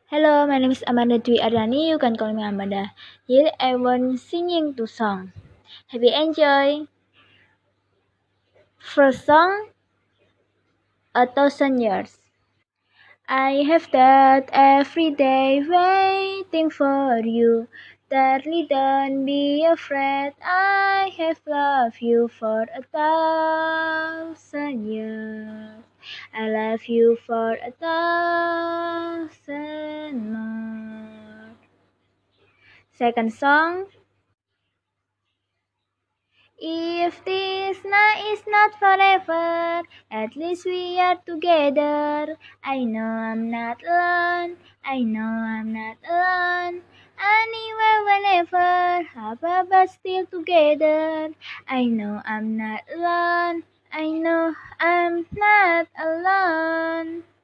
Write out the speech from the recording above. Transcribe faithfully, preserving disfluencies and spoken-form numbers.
Hello, my name is Amanda Dwi Ardani. You can call me Amanda. Here I want singing two songs. Happy enjoy. First song, A Thousand Years. I have that every day waiting for you. Darling, don't be afraid. I have loved you for a thousand years. I love you for a thousand more. Second song, if this night is not forever, at least we are together. I know I'm not alone, I know I'm not alone. Anywhere, whenever, Papa, but still together. I know I'm not alone, I know I'm not alone.